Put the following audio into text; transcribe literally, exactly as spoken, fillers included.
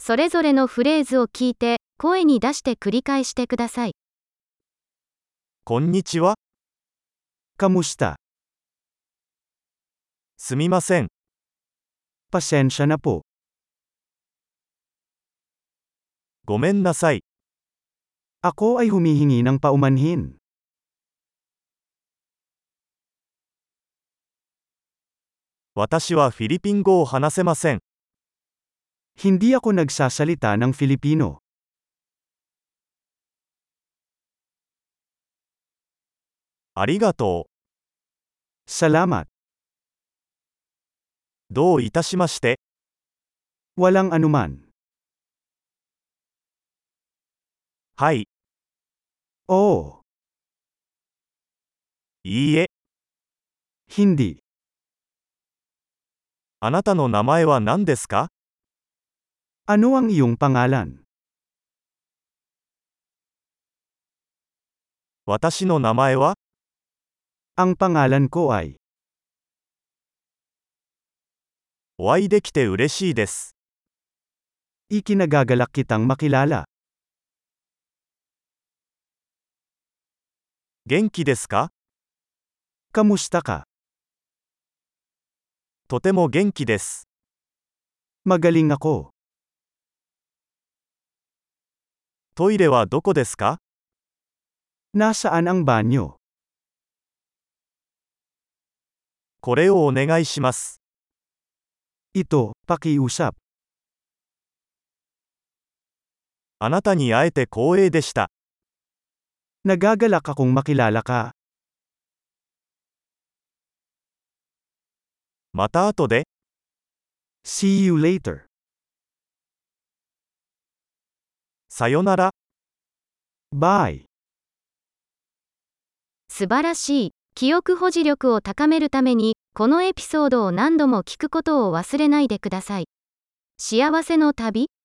それぞれのフレーズを聞いて、声に出して繰り返してください。 こんにちは。 Kamusta? すみません。 Pasensya na po. ごめんなさい。 Ako ay humihingi ng paumanhin. 私はフィリピン語を話せません。 Hindi ako nagsasalita ng Filipino. ありがと Salamat. う。どういたしまして。 Walang anuman. はい。 Oo. いいえ。 Hindi. あなたの名前は何ですか？ Ano ang iyong pangalan? 私の名前は？ Ang pangalan ko ay. お会いできて嬉しいです。 Ikinagagalak kitang makilala. 元気ですか？ Kamusta ka? とても元気です。 Magaling ako. トイレはどこですか？ Nasaan ang banyo? これをお願いします。 Ito, pakiusap. あなたに会えて光栄でした。 Nagagalak akong makilala ka. また後で。 See you later. さよなら。 Bye. 素晴らしい。記憶保持力を高めるために、このエピソードを何度も聞くことを忘れないでください。幸せの旅